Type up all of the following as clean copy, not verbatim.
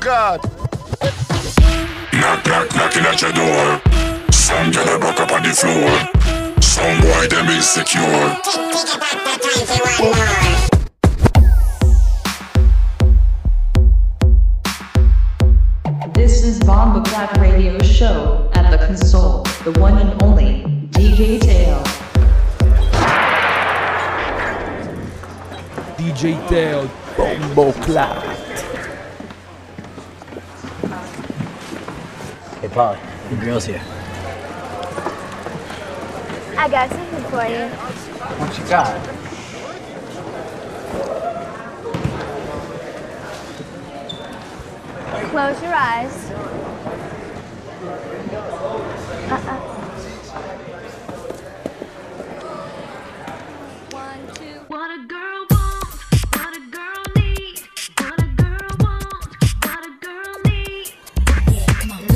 God. Knock, knock, knocking at your door. Some get a buck up on the floor. Some boy them insecure. This is Bomba Clap Radio Show at the console, the one and only DJ Teo. DJ Teo, Bomba Clap. Hey Paul, the girl's here. I got something for you. What you got? Close your eyes. One, two. What a girl wants, what a girl needs, what a girl wants, what a girl needs. Yeah, come on.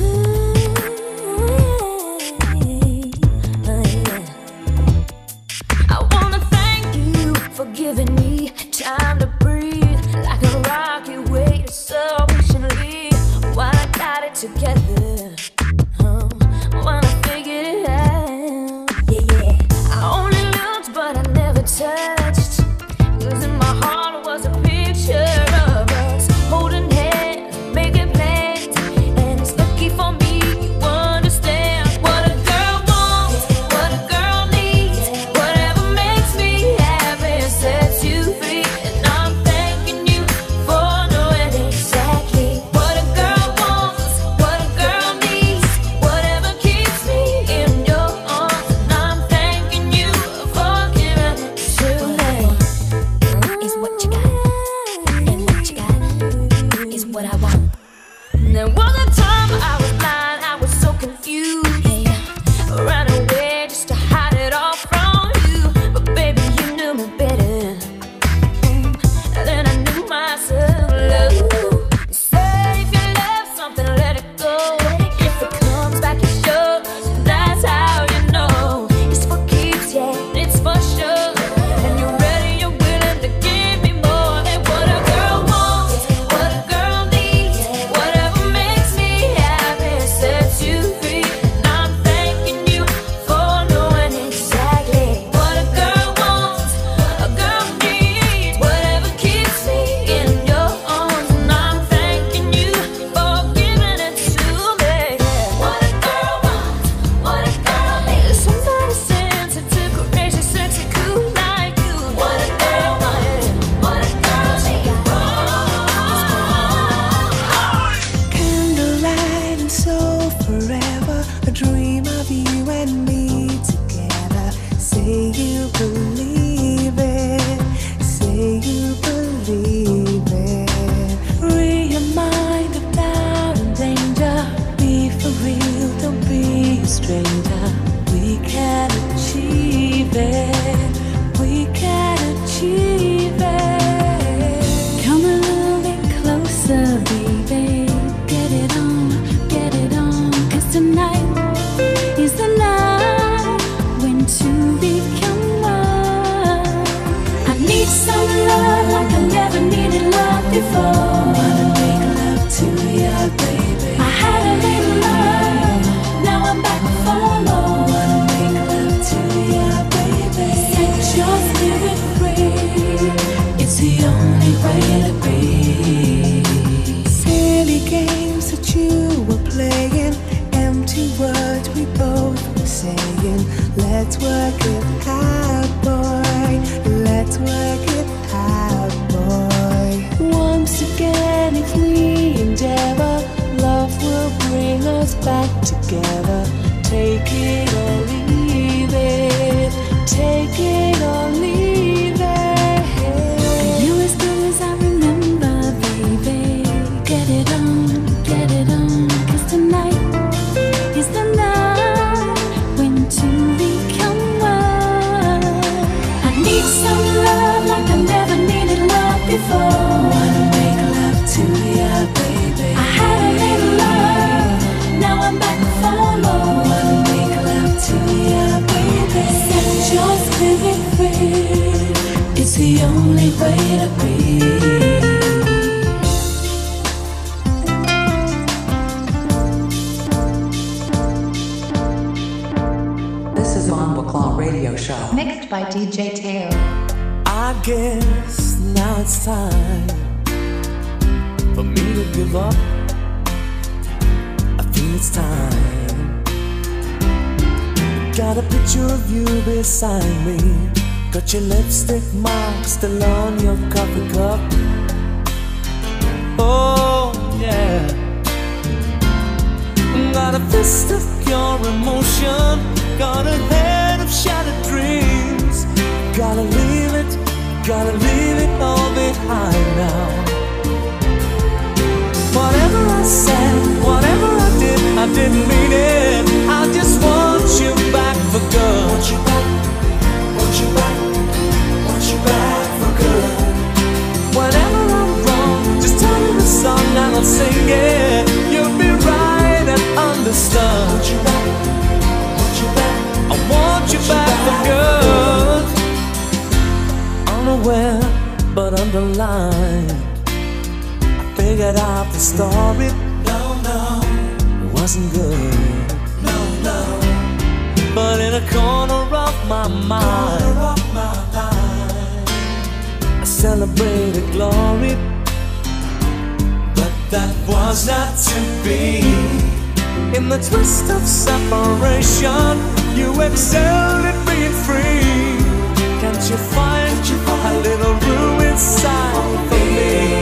I wanna thank you for giving me time to breathe, like a rocket waiting so patiently while I got it together. When I figured it out, yeah. I only looked, but I never touched. 'Cause in my heart was a picture of us holding hands, making plans, and it's lucky for me you understand what a girl wants, what a girl needs, whatever makes me happy sets you free, and I'm thanking you for knowing exactly what a girl wants, what a girl needs, whatever keeps me in your arms, and I'm thanking you for giving it to me. Is what you got, and what you got is what I want. There was a time I was blind, I was so confused, ran away just to hide it all from you, but baby you knew me better than I knew myself. Love, say if you love something, let it go. If it comes back, it's yours. That's how you know it's for keeps, yeah, it's for sure. And you're ready, you're willing to give me more. And what a girl wants, what a girl needs, whatever makes me happy sets you free. And I'm thanking you for knowing exactly what a girl wants, a girl needs, whatever keeps me in your arms. And I'm thanking you for giving it to me. What a girl wants, what a girl needs, somebody sensitive, courageous, sexy, cool like you. What a girl wants, what a girl needs. Candlelight and soul forever, a dream of you and me together. Say you believe it, say you believe it. Free your mind of doubt and danger. Be for real, don't be a stranger. We can achieve it, we can achieve it. Come a little bit closer, baby. Get it on, 'cause tonight is the night when two become one. I need some love like I never needed love before. Wanna make love to ya, baby. I had a little love, now I'm back for more. Wanna make love to ya, baby. Set your spirit free, it's the only way to be. Silly games that you were playing, empty words we both were saying. Let's work it out, boy. Let's work it out, boy. Once again, if we endeavor, love will bring us back together. Take it or leave it, take it or leave it. You as good as I remember, baby. Get it on, 'cause tonight is the night when two become one. I need some love like I never needed love before. Wanna make love to ya, baby. I had a little love, now I'm back for more. Wanna make love to ya, baby. Set your spirit free, it's the only way to be. Radio Show. Mixed by DJ Teo. I guess now it's time for me to give up. I feel it's time. Got a picture of you beside me. Got your lipstick mark still on your coffee cup. Oh yeah. Got a fist of pure emotion. Got a head of shattered dreams. Gotta leave it all behind now. Whatever I said, whatever I didn't mean it. I just want you back for good. Want you back, want you back, want you back for good. Whenever I'm wrong, just tell me the song and I'll sing it. You'll be right and understood. Want you back, want you back, I want you back for good. Unaware but underlined, I figured out the story. No, it wasn't good. No, but in a corner of my mind, I celebrated glory. But that was not to be. In the twist of separation, you excelled at being free. Can't you find a little room inside for me?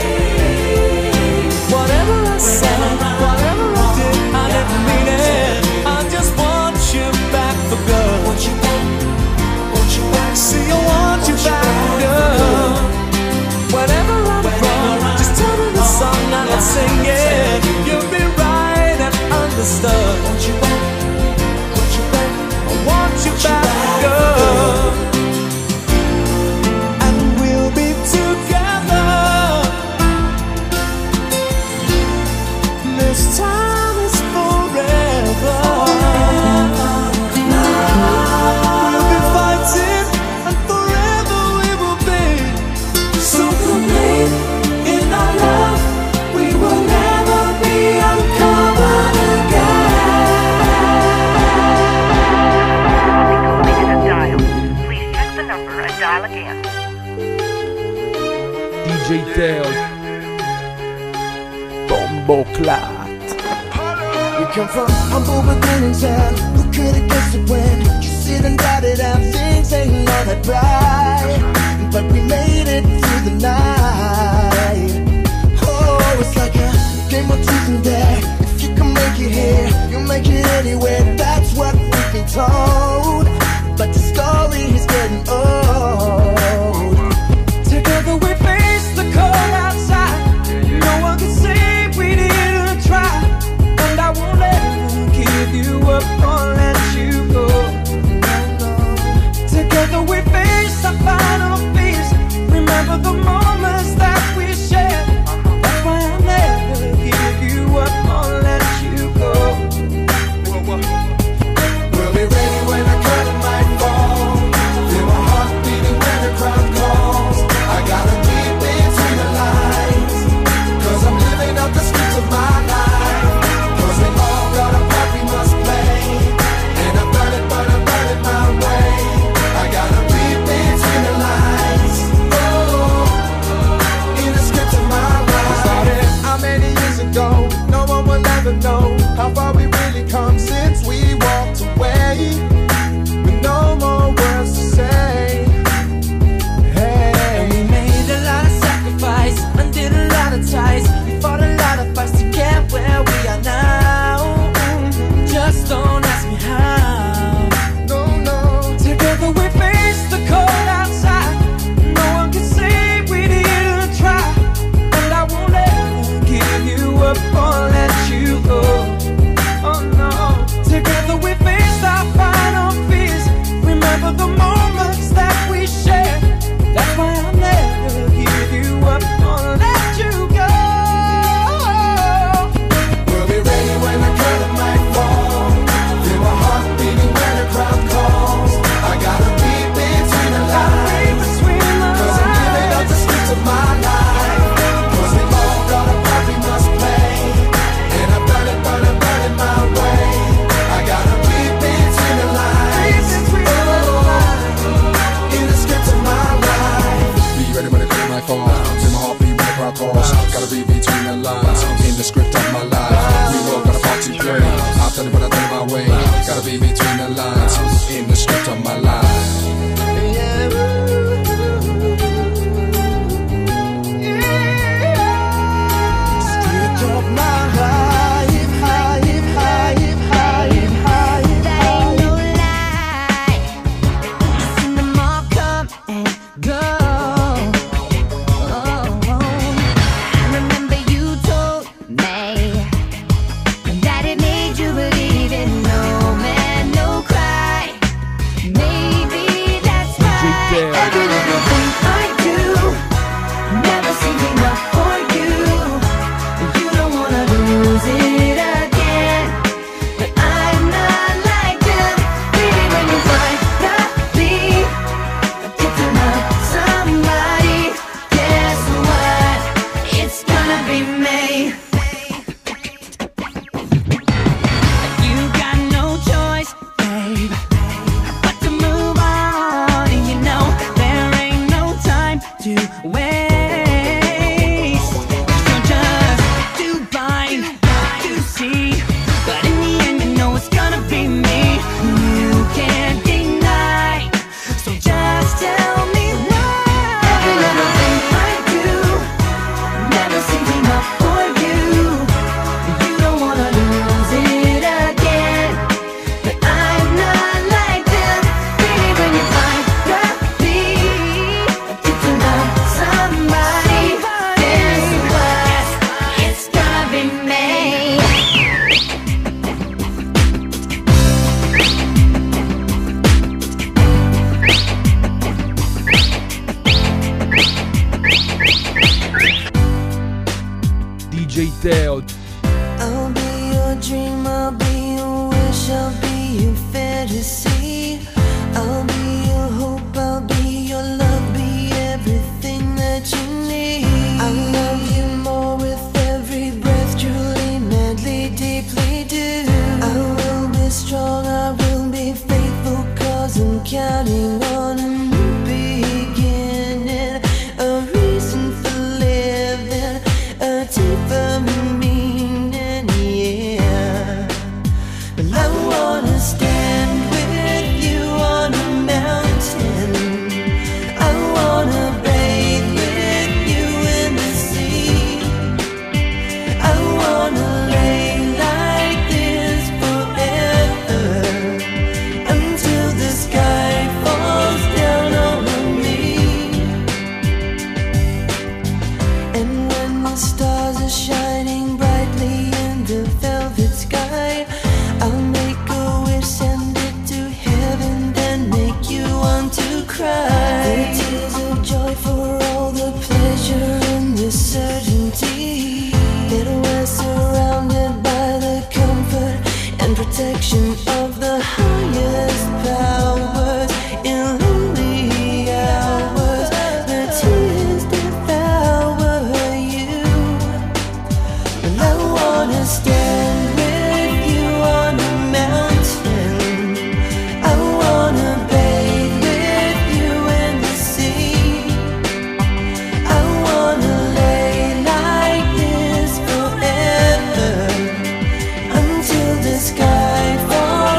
Whatever I said, whatever I did, I didn't mean it. I just want you back for good. Want you back, want you back. See, I want you back for good. Whenever I'm wrong, just tell me the song and I'll sing it. You'll be right and understood. Want you back, want you back. I want you back for good. This time is forever. We'll be fighting, and forever we will be so complete in our love. We will never be uncovered again. Please check the number and dial again. DJ Teo. Bomboclat. We come from humble beginnings and who could have guessed it when you sit and doubted and things ain't all that bright. But we made it through the night. Oh, it's like a game of truth and dare. If you can make it here, you'll make it anywhere. That's what we've been told. But the story is getting old. Together we face the cold outside. No one can say we didn't try. And I won't ever give you up or let you go. Together we face our final fears. Remember the moments that we shared. That's why I'll never give you up or let you go. We'll be ready when the curtain might fall. Feel my heart beating when the crowd calls. I gotta read between the lines, 'cause I'm living up the script of my life. 'Cause we all got a part we must play, and I burn it my way. I gotta read between the lines, oh, in the script of my life. Started how many years ago? No one will ever know how far we really come since we walked away, with no more words to say. Hey, And we made a lot of sacrifice and did a lot of ties. We fought a lot of fights to get where we are now. Just don't ask me how. no. Together we face the cold outside. No one can say we didn't try. And I won't ever give you up or let you go. Oh no. tell you when I tell you my way. Gotta be between the lines, in the script of my life. Street of my life, That ain't no lie. I've seen them all come and go. I remember you told me that it made you believe in no man, no cry. Maybe that's right. Every little thing I do never seems enough for you. You don't wanna lose it again, but I'm not like them. Baby, when you finally get to love somebody, guess what? It's gonna be me. You got no choice, babe, but to move on. And you know there ain't no time to waste. So just too blind to see, but in the end you know it's gonna be me. You can't deny, so just tell me why. Every little thing I do never seems enough for you. You don't wanna lose it again, but I'm not like them. Baby, when you finally get to love somebody, guess what? It's gonna be me. DJ Teo. I'll be your dream, I'll be your wish, I'll be your fantasy. I'll be your hope, I'll be your love, be everything that you need. I love you more with every breath, truly, madly, deeply do. I will be strong, I will be faithful, cause I'm counting on a new beginning, a reason for living, a deeper meaning, yeah. Well, I wanna stand with you on a mountain. I wanna bathe with you in the sea. I wanna lay like this forever, until the sky falls down on me. And when the stars are shining brightly in the velvet sky, I'll make a wish, send it to heaven, then make you want to cry. The tears of joy for all the pleasure and the certainty that we're surrounded by the comfort and protection of the highest powers. In lonely hours, the tears devour you. And I wanna stand with you on a mountain. I wanna bathe with you in the sea. I wanna lay like this forever, until the sky falls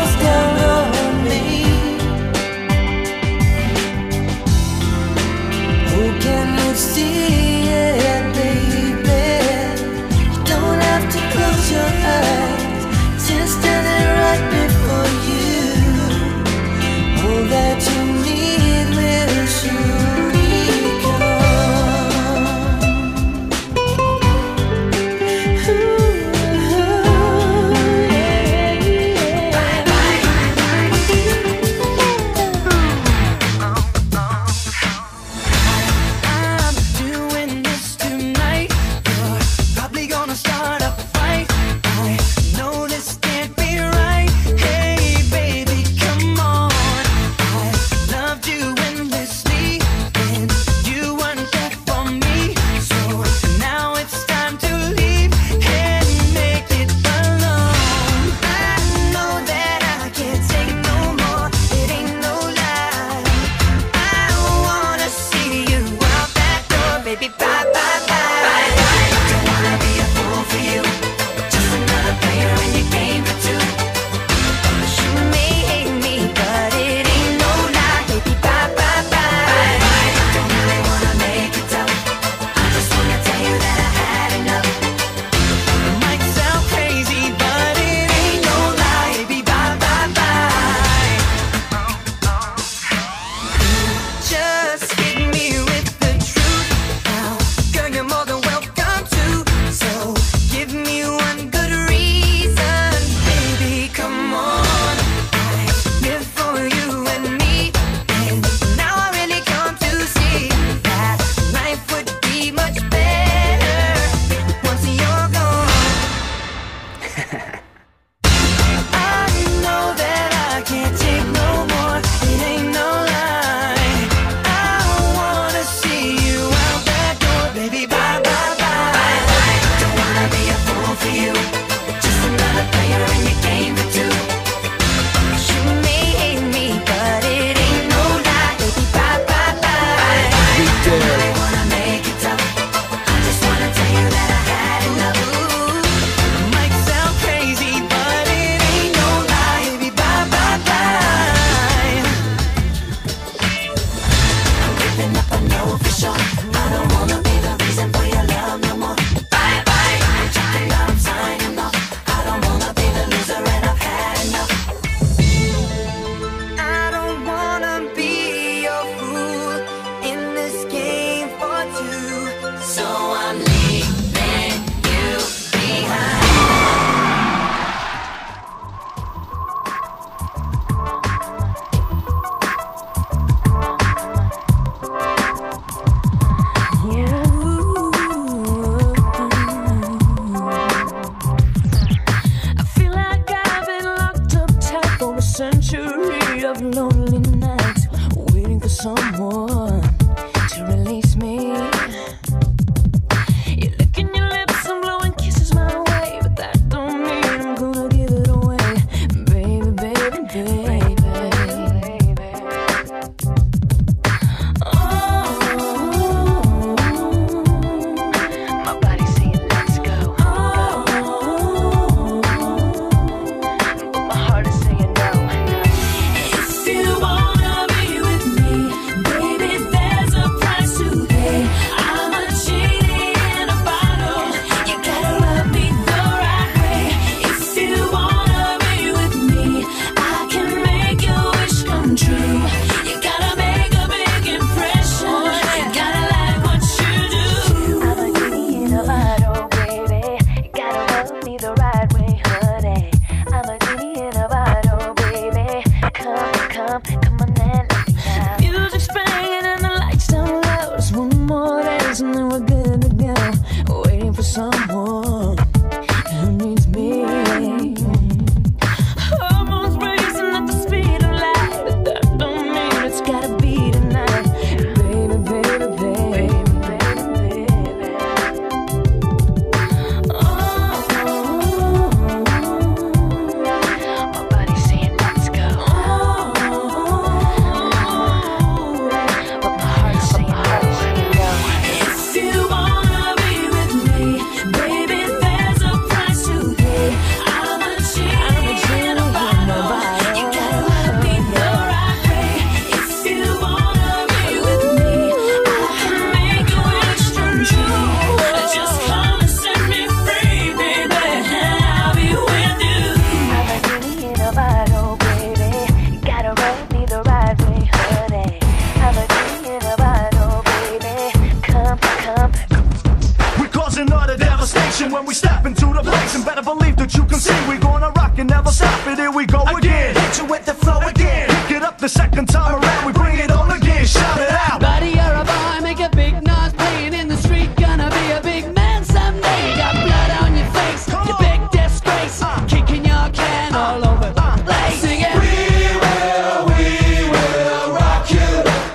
stop it, here we go again. Hit you with the flow again. Pick it up the second time around, we bring it on again. Shout it out. Buddy, you're a boy, make a big noise playing in the street. Gonna be a big man someday. You got blood on your face, you big disgrace. Kicking your can all over the place. Sing it. We will rock you.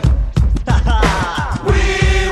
We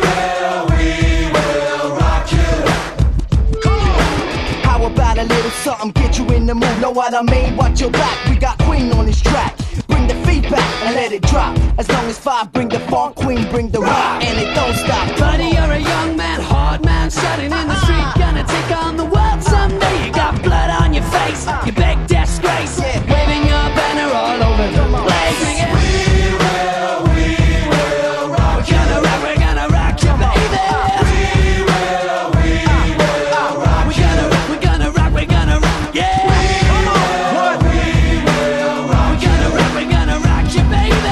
will rock you. Come on. How about a little something, get you in the mood? Know what I mean? Watch your back, we got Queen on this track. Bring the feedback and let it drop. As long as 5 bring the funk, Queen bring the rock, and it don't stop. Buddy, you're a young man, hard man, shouting in the street. Gonna take on the world someday. You got blood on your face, you big disgrace. Waving your banner all over the place. Sing it. We will rock you. We're gonna rock you, baby. We will rock you. We're gonna rock, yeah. Come on. What? We will rock you. We're gonna rock you, baby.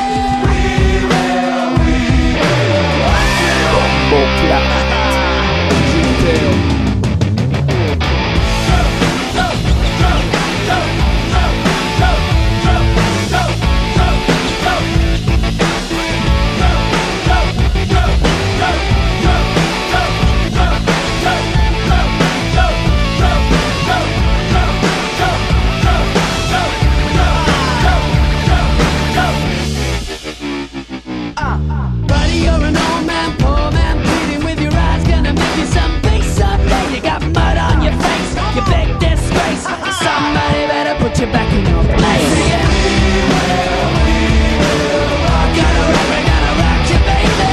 Buddy, you're an old man, poor man, pleading with your eyes. Gonna make you some peace someday. You got mud on your face, you big disgrace. Somebody better put you back in your place. Yeah. We're gonna rock you, baby.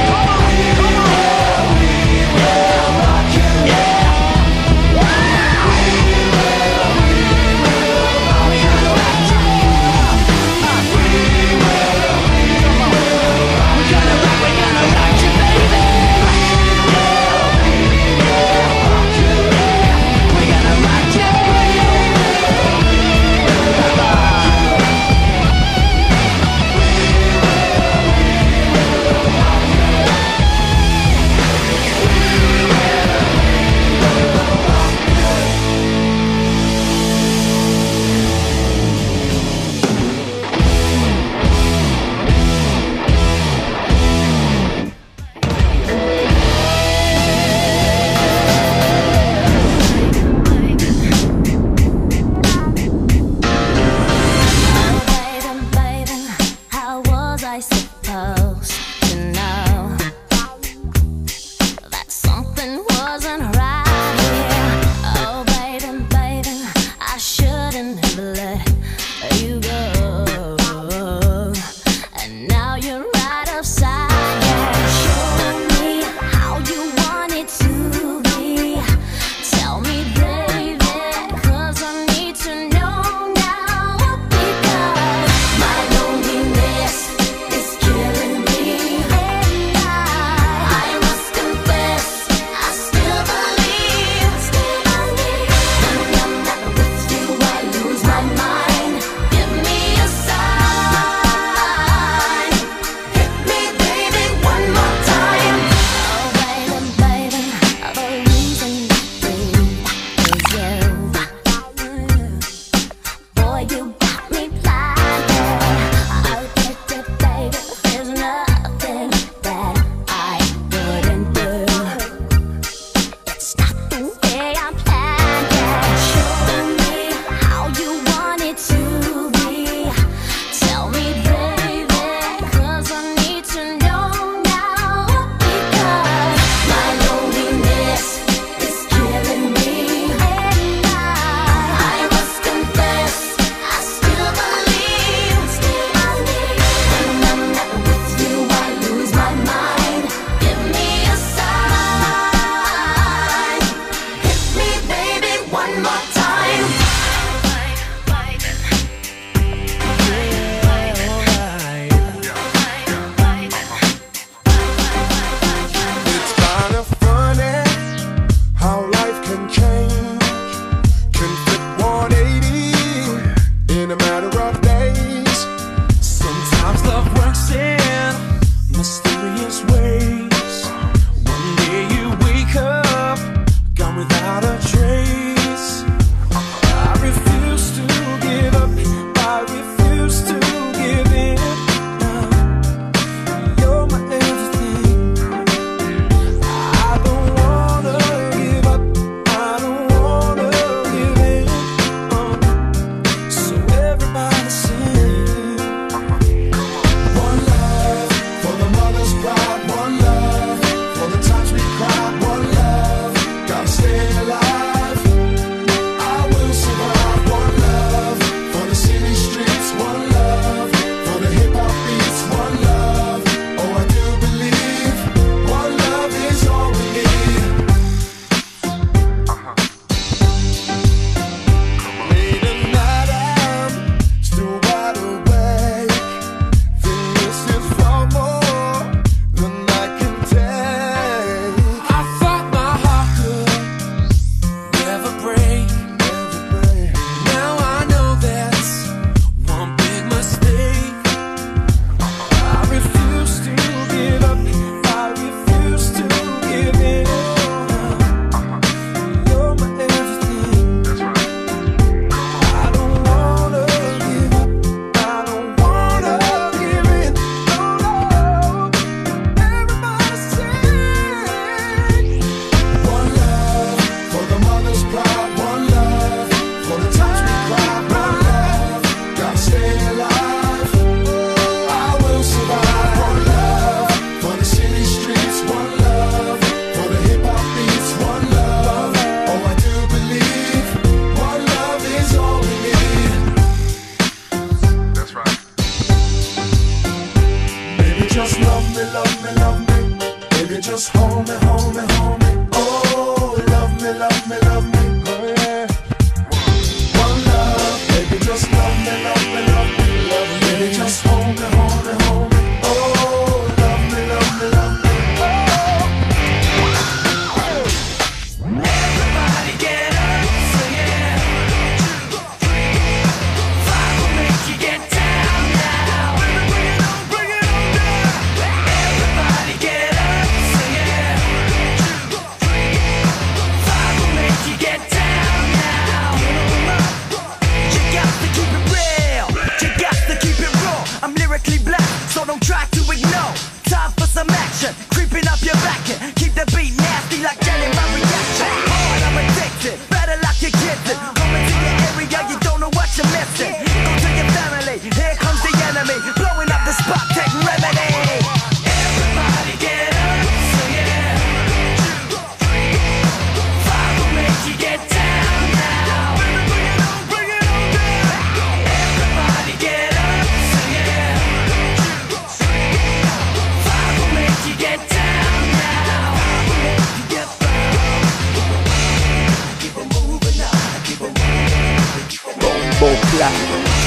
love me, love me, love me. Baby, just hold me, hold me, hold me. Oh, love me, love me, love me. Everybody get up, sing it. 1, 2, 3, 5 will make you get down now. Bring it on down. Everybody get up, sing it. 1, 2, 3, 5 will make you get down now. You got to keep it real. You got to keep it raw. I'm lyrically black, so don't try to ignore. Time for some action, creeping up your back and keep the beat nasty like jelly. My reaction, hard, I'm addicted. Better lock your kids in. Coming to your area, you don't know what you're missing. Go to your family, here comes the enemy, blowing up the spot, take remedy. Everybody get up, sing it. 1, 2, 3, 5 will make you get down now. Bring it on down. Everybody get up, sing it. 1, 2, 3, 5 will make you get down now. Get down. Keep it moving now. Keep it moving. Bombo Clat.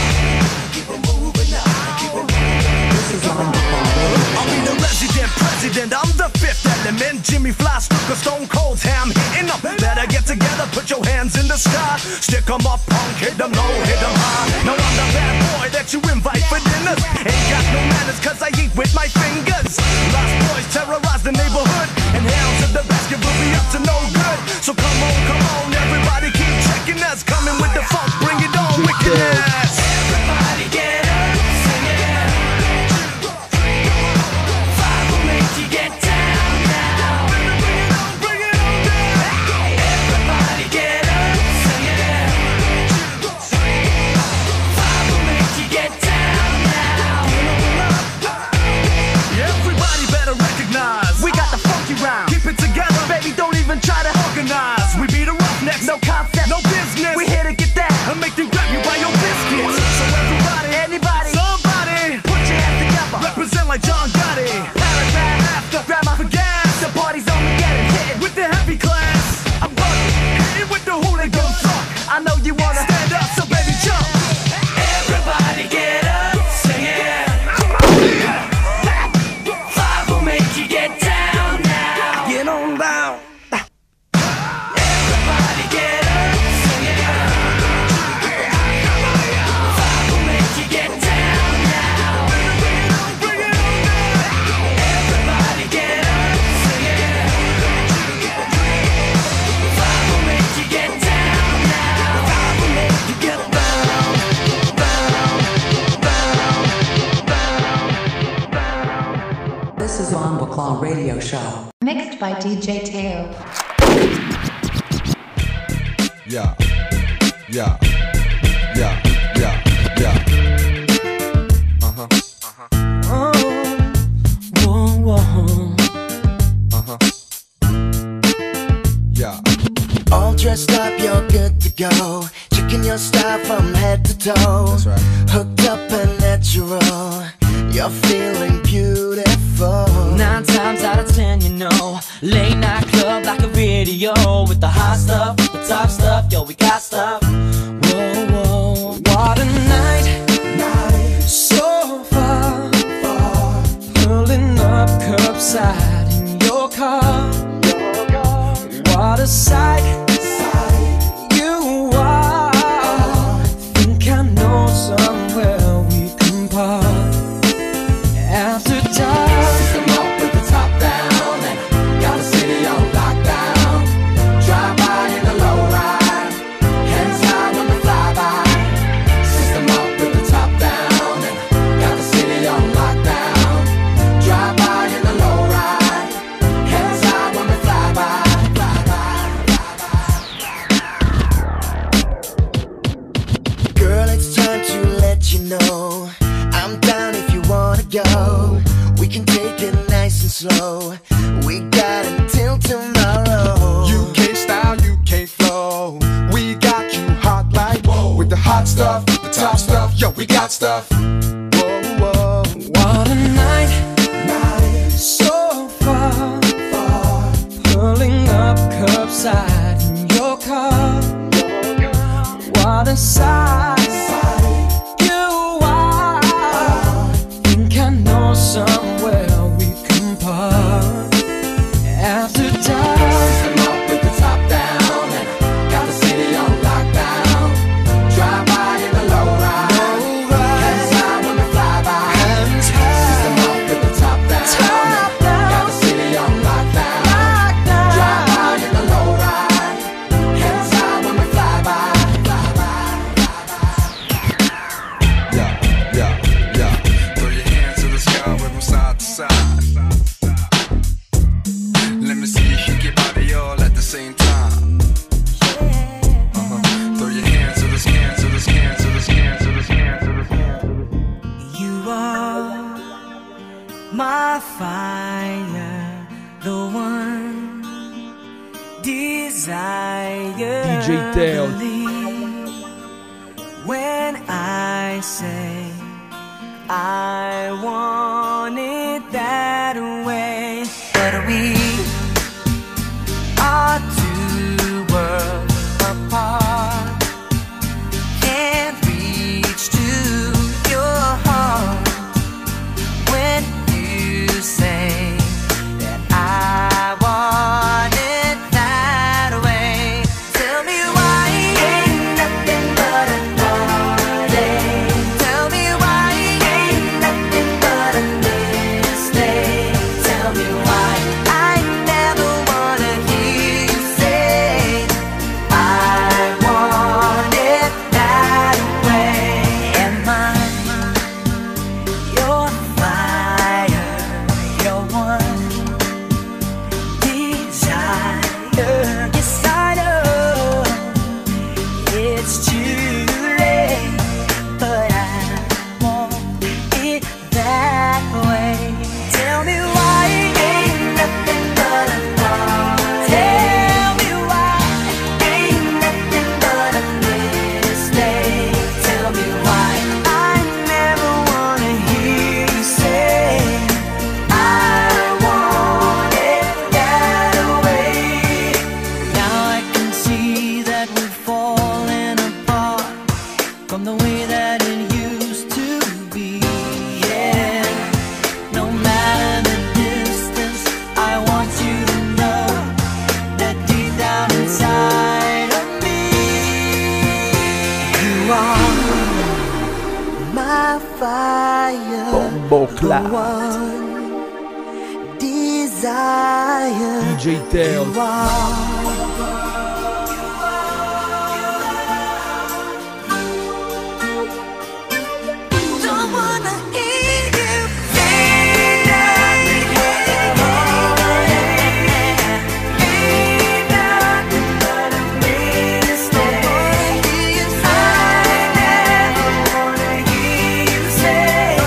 I'll be the resident president, I'm the fifth element. Jimmy Fly, Stuka, Stone Cold, Ham hitting them. Better get together, put your hands in the sky. Stick 'em up, punk, hit 'em low, hit 'em high. Now I'm the bad boy that you invite for dinners. Ain't got no manners cause I eat with my fingers. Lost boys terrorize the neighborhood, and hounds of the basket will be up to no good. So come on, everybody keep checking us. Coming with the funk, bring it on, wickedness. Everybody get up, sing it. 1, 2, 3, 5 will make you get down now. Bring it on down. Everybody get up, sing it. 1, 2, 3, 5 will make you get down now. Everybody better recognize we got the funky round. Keep it together, baby, don't even try to organize. We be the roughnecks, no concept, no business. We here to get that and make you grab you by your biscuits. So everybody, anybody, somebody, put your hands together. Represent like John Gotti. Paragraph after, grab my gas. The party's on, we get it, hit it with the heavy class. I'm bugging, hit it with the hooligan funk. I know you wanna stand up, so baby jump. Everybody get up, sing it. 5 will make you get down now. Get on down. Everybody get up, sing it. 5 will make you get down now. Bring it on down. Everybody get up, sing it. 5 will make you get down now. 5 will make you get down, down. This is Bombo Clat Radio Show. Mixed by DJ Teo. Yeah, yeah, yeah, yeah, yeah. Uh-huh. Yeah. All dressed up, you're good to go. Checking your style from head to toe. That's right. Hooked up and natural. You're feeling beautiful. 9 times out of 10, you know, late night club like a video with the hot stuff, the top stuff, yo, we got stuff. Whoa, whoa, what a night, so far, pulling up curbside in your car. What a sight, you are. Think I know somewhere we can park. After dark, System up with the top down and got the city on lockdown. Drive by in the low ride, hands high when we fly by. System up with the top down and got the city on lockdown. Drive by in the low ride, hands high when we fly by. Girl, it's time to let you know I'm down if you wanna go. We can take it nice and slow. We got until tomorrow. UK style, UK flow. We got you hot like with the hot stuff, the top stuff. Yo, we got stuff. Whoa, whoa. what a night, so far, pulling up curbside in your car. What a sight, you my fire, the one desire. DJ Teo. Believe when I say I want it that way, but we are two worlds apart. Can't reach to your heart when you say that I want it that way. Tell me why ain't nothing but a party. Tell me why ain't nothing but a mistake. Tell me why I never wanna hear you say I want it that way. Am I your fire, your one desire? Yes, I know it's too late, but I want it that way. Tell me why ain't nothing but a party. Tell me why ain't nothing but a mistake. Tell me why I never wanna hear you say I want it that way. Now I can see that we've fallen apart from the way that it used to be. Yeah, no matter the distance, I want you to know that deep down inside of me, you are my fire, Bombo the Clat. one desire. DJ Teo. You are. Don't wanna hear you say nothing but a mistake. I never wanna hear you say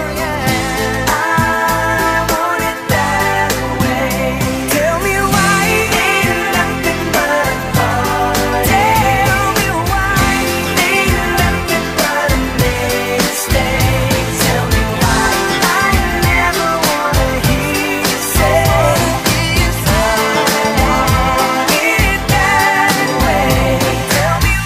I want it that way. Tell me why ain't nothing but a party. Tell me why ain't nothing but a mistake. Tell me why I never wanna hear you say I want it that way. Tell me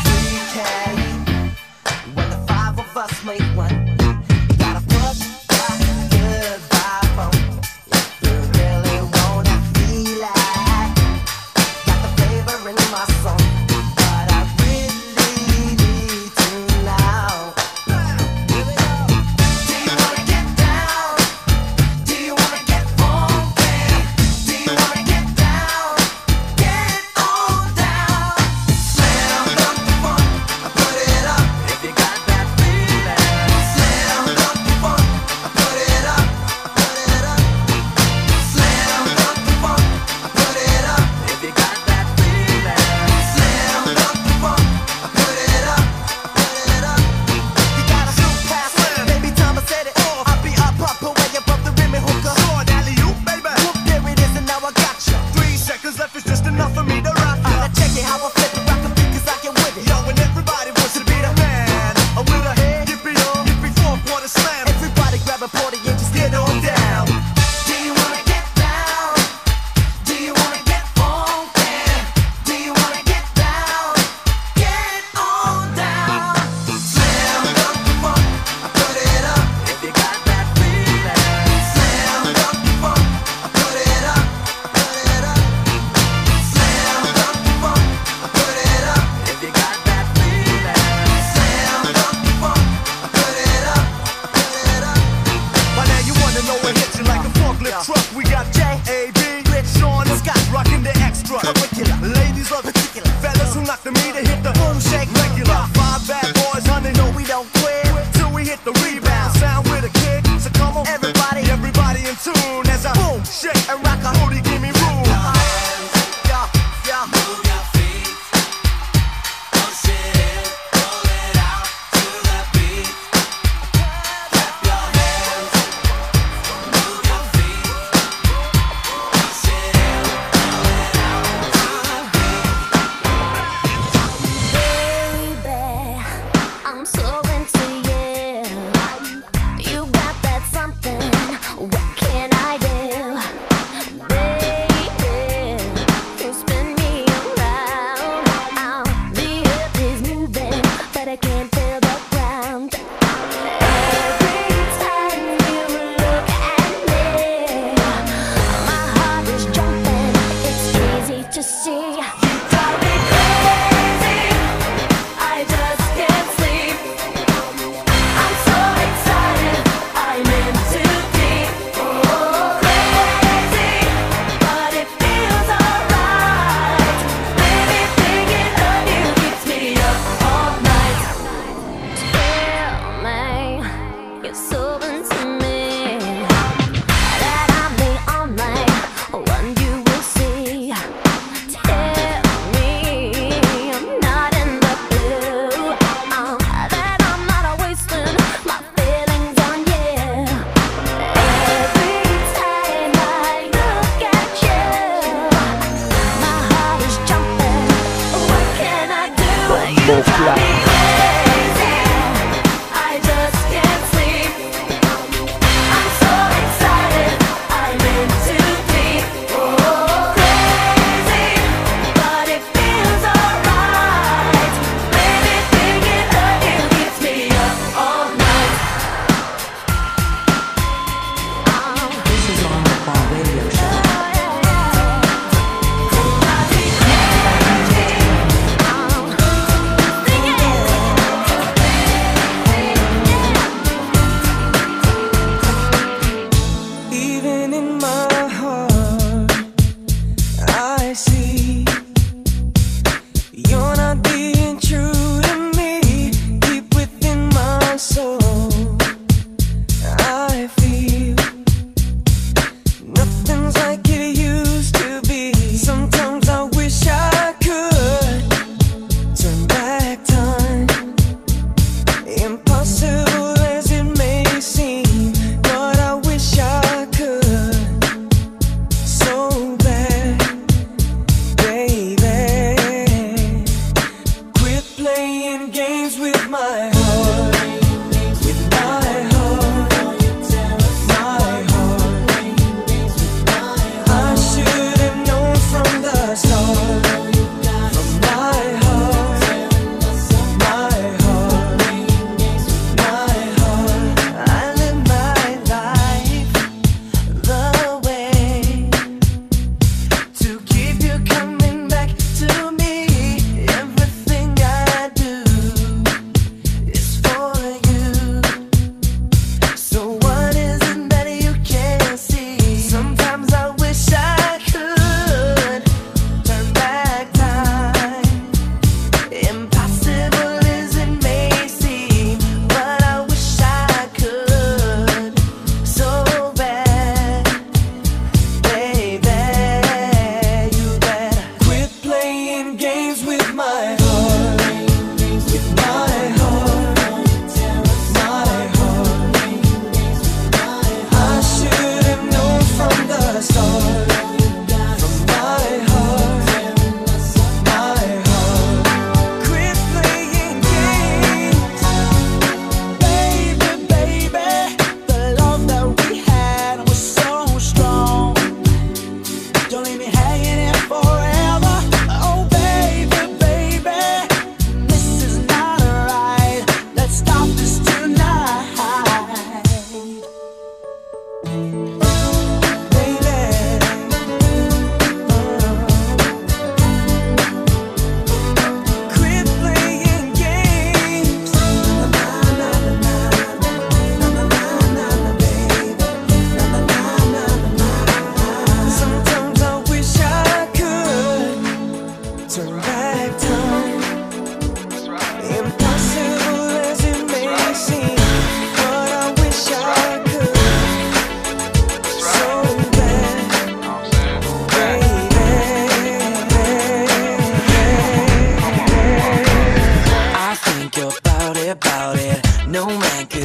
when the five of us make one, you gotta push that good vibe on. If you really wanna feel like got the flavor in my song, but I really need to now. Do you wanna get down? Do you wanna get funky? Do you wanna get down? Get on down. Slam dunk the funk, I put it up. If you got that feeling. Slam dunk the funk, I put it up. I put it up. Slam dunk the funk, I put it up. If you got that feeling. Slam dunk the funk, I put it up. I put it up. You gotta shoot past it, baby. Time I set it off. I'll be up way above the rim and hook up. Short alley-oop, baby. Whoop, there it is, and now I got you. 3 seconds left is just enough for me to rock ya. Now check it how I flip it, rock a beat 'cause I get with it. Yo, and everybody wants to be the man. With a head, yippee, yippee, 4-quarter slam. Everybody grab a party and just get on down. Do you wanna get down? Do you wanna get funky? Do you wanna get down? Get on down. Slam dunk the funk, I put it up. If you got that feeling. Slam dunk the funk, I put it up. I put it up. Slam dunk the funk, I put it up. If you got that feeling. Slam dunk the funk, I put it up. I put it up. By now you wanna know what hits you like a forklift truck. We got J.A.B. Rich, Sean, and Scott rocking the extra. Curricular. Ladies love particular. Fellas who knock the meter hit the boom shake regular. 5 bad boys, honey, no we don't quit till we hit the rebound. Sound with a kick, so come on everybody, everybody in tune as I boom, shake, and rock a booty, give me room. Move your feet, push it in, roll it out to the beat. Clap your hands, move your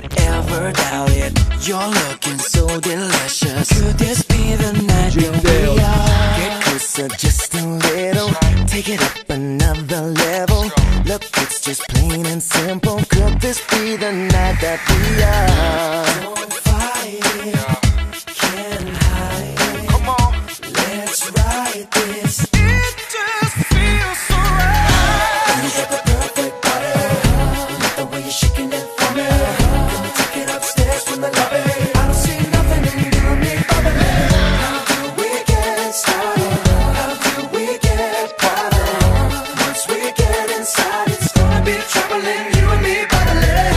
could ever doubt it. You're looking so delicious. Could this be the night that we are? Get closer just a little. Take it up another level. Look, it's just plain and simple. Could this be the night that we are? Don't fight it. Can't hide it. Come on. Let's ride this. It just feels so right. You got the perfect body. Love the way you're shaking it for me. Let me take it upstairs from the lobby. I don't see nothing in you and me bubbling. How do we get started? How do we get started? Once we get inside, it's gonna be troubling. You and me bubbling.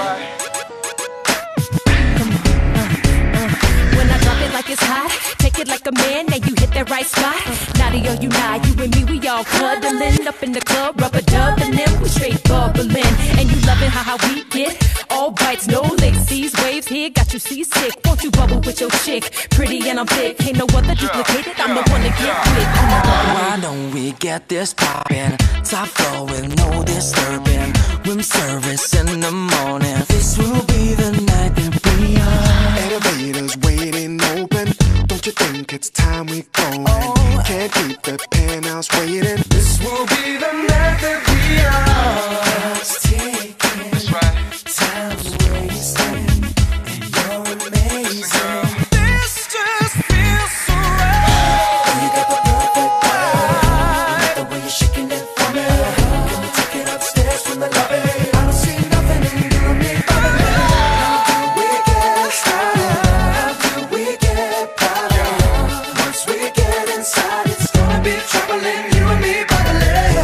When I drop it like it's hot, take it like a man, now you hit that right spot. Naughty or you not, you and me, we all cuddling up in the club, rubber dubbing them, we straight bubbling. And you loving how we get all bites, no licks. These waves here got you seasick. Won't you bubble with your chick? Pretty and I'm thick, ain't no other duplicated. I'm the one to get with. Why don't we get this poppin'? Top floor with no disturbing. Room service in the morning. This will be the night that we are. Elevators waiting open. Don't you think it's time we going? Can't keep the penthouse waiting. This will be the night that we are. Let's take it. That's right. Time's wasting, and you're amazing. This just feels so right. You got the perfect body. The way you're shaking it for me. Let me take it upstairs from the lobby. I don't see nothing in you and me bubbling. How do we get started? How do we get started? Once we get inside, it's gonna be troubling. You and me bubbling.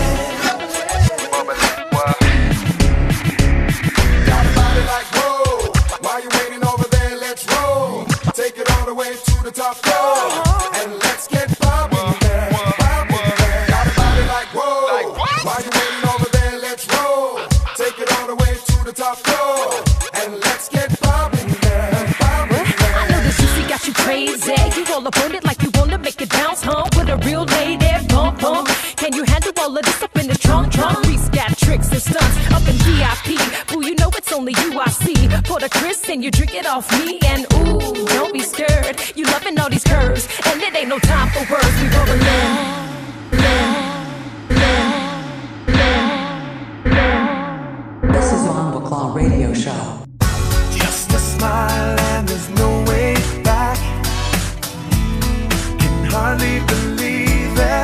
Got a body like whoa. Why you waiting over there? Let's roll. Take it all the way to the top floor. And let's get poppin' there. Poppin' there. Got a body like whoa. Why you waiting over there? Let's roll. Take it all the way to the top floor. And let's get poppin' there. Poppin' there. I know the juicy got you crazy. You all up on it like you wanna make it bounce, huh? With a real lady, bump, bump. Can you handle all of this up in the trunk? Reese got tricks and stunts up in VIP. Boo, you know it's only you I see. Pour the Chris and you drink it off me. And ooh, don't be scared. You loving all these curves. And it ain't no time for words. We bubbling. This is Bomba Claw Radio Show. Just a smile and there's no way back. Can hardly believe it.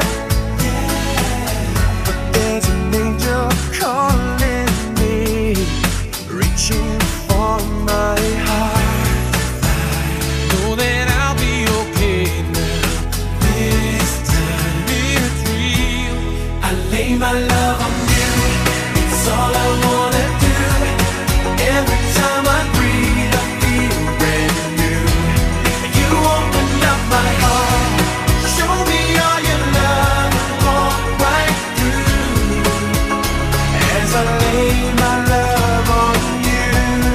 But there's an angel calling me, reaching for my heart. Know that I'll be okay now. This time it's real. I lay my love on you. It's all I wanna do. Every time I breathe, I feel brand new. You open up my heart. Show me all your love and walk right through. As I lay my love on you.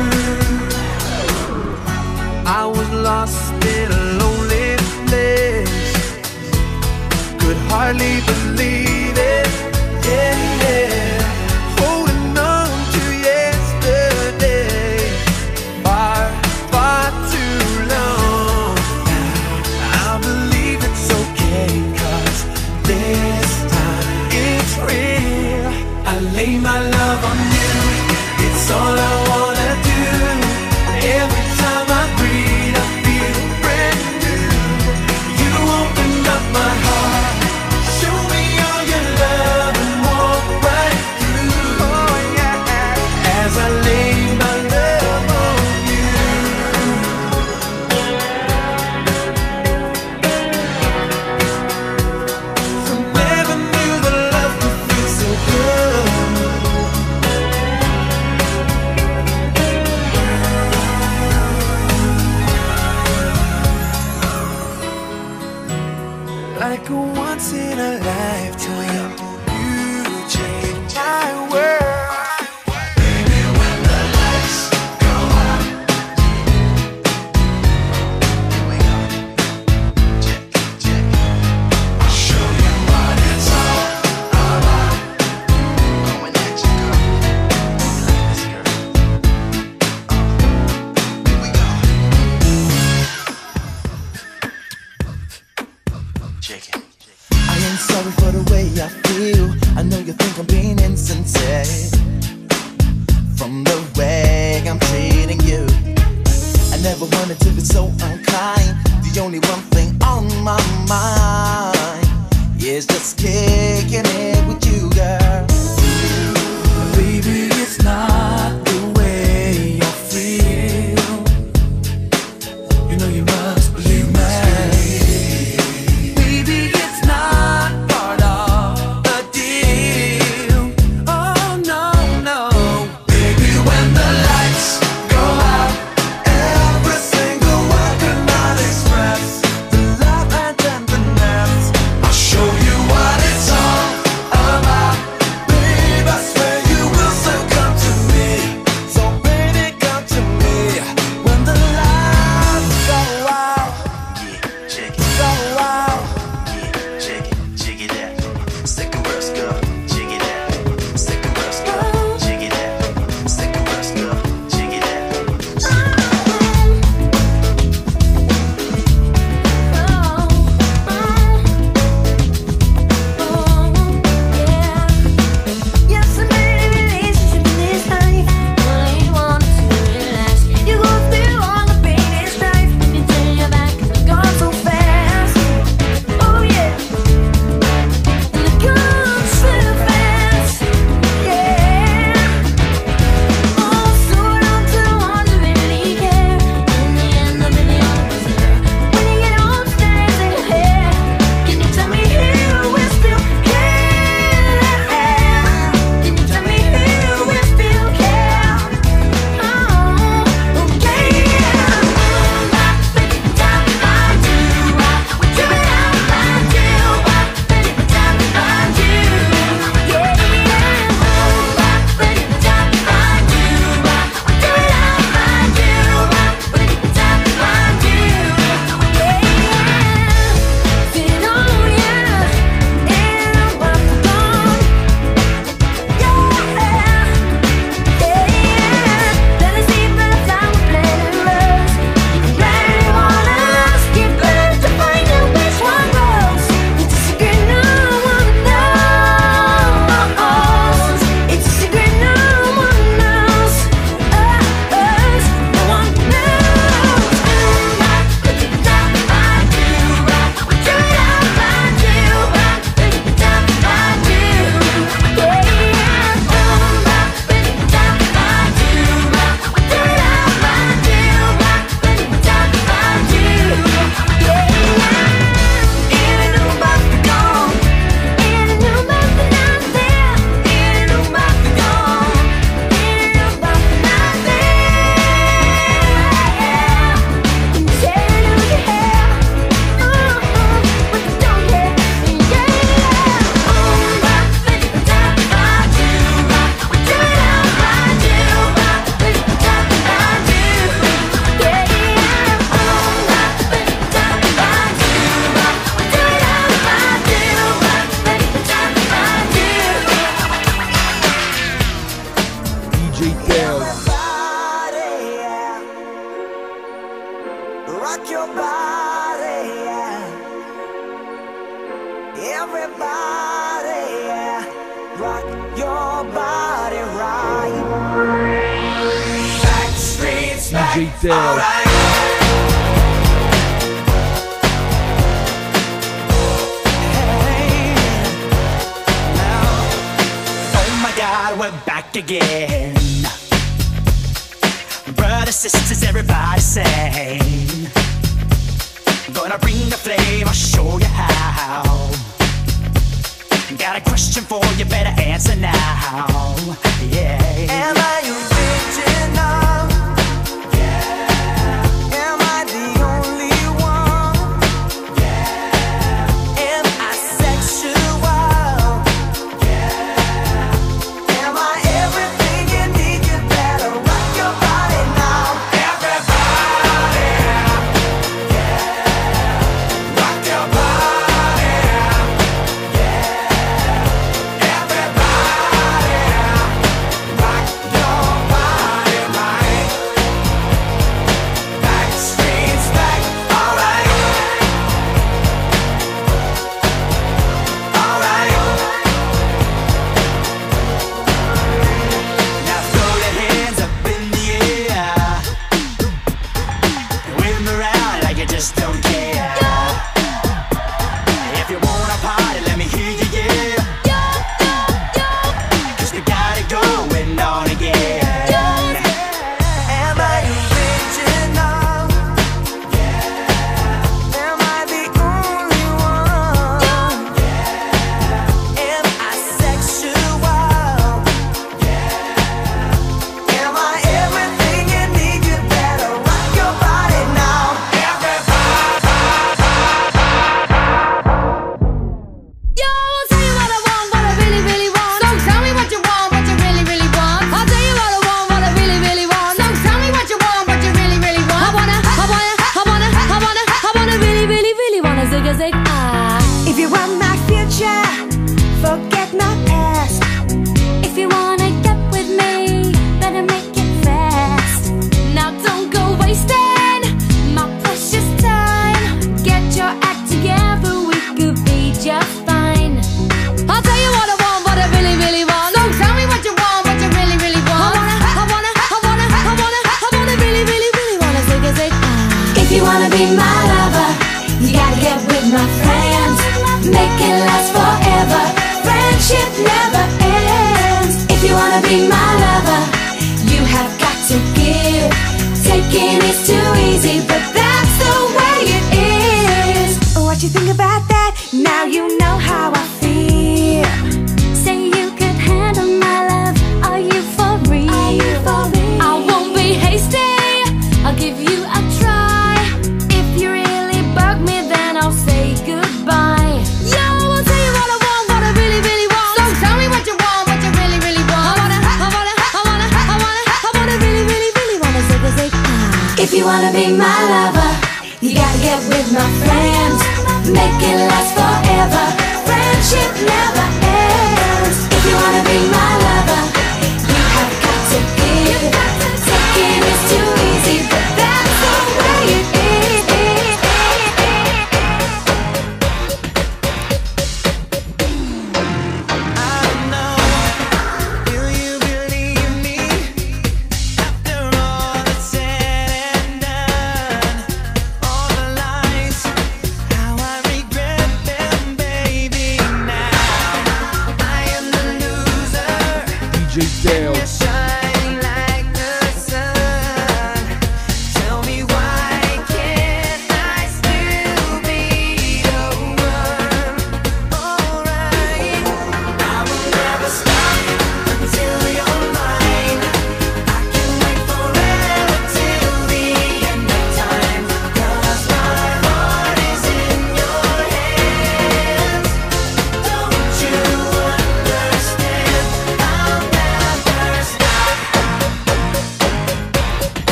I was lost in a lonely place. Could hardly believe it. Yeah, yeah. Holding on to yesterday. Far, far too long. I believe it's okay, 'cause this time it's real. I lay my love on you. It's all I wanna do. Every time I breathe, I feel brand new. You open up my heart. Show me all your love and walk right through. Oh yeah. As I lay my love on you. Never knew the love could feel so good. Like a once in a lifetime, you changed my world. Baby, when the lights go out, I'll show you what it's all about. Going at you, girl. I know you think I'm being insincere from the way I'm treating you. I never wanted to be so unkind. The only one thing on my mind is just kicking it with you, girl. Baby, it's not the way you feel. You know you must believe me. Baby, it's not part of the deal. Oh no, no. Baby, when the lights go out, every single word cannot express the love and tenderness. I'll show you what it's all about. Babe, I swear you will soon come to me. So baby, come to me when the lights go out. Check it, Go out. check it out. Second verse, girl, check it out. Second verse, girl, check it out. Second verse, girl, check it out. Yes, I made a relationship in this life. Only wanted to relax. You go through all the pain and strife. When you turn your back, it's gone so fast. Oh yeah, and it comes so fast. Yeah. Oh, so don't you want to really care? In the end, I'll be the only one there. When you get upstairs in your head, can you tell me who will still care? Can you tell me who will still care? Oh, okay. DJ Teo. Rock your body, yeah. Everybody, yeah. Rock your body right. Back streets, back. DJ Teo. Oh my God, we're back again. Brothers, sisters, everybody sing. Gonna bring the flame, I'll show you how. Got a question for you, better answer now. Yeah. Am I original? Yeah. Am I the only one? Yeah. Am I sexual? Yeah. Am I everything you need? You better rock your body now. Everybody, yeah. Rock your body, yeah. Everybody, rock your be my lover, you gotta get with my friends. Make it last forever. Friendship never ends. If you wanna be my lover, you have got to give. Taking is too easy, but that's the way it is. What you think about that? Now you know how I feel. Say you could handle my love. Are you for real? Are you for real? I won't be hasty. I'll give you a try. If you really bug me, then I'll say goodbye. Yo, I'll tell you what I want, what I really, really want. So tell me what you want, what you really, really want. I wanna really, really, really wanna say. If you wanna be my lover, you gotta get with my friends. Make it last forever. Friendship never ends. If you wanna be my lover, you have got to give. Taking is too easy, but that's the way it is. Baby, now I am the loser.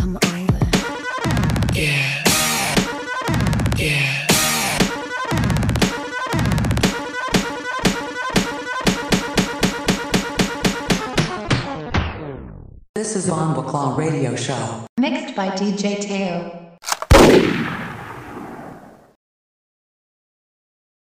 come over. Yeah. Yeah. This is Bomba Claw Radio Show. Mixed by DJ Teo.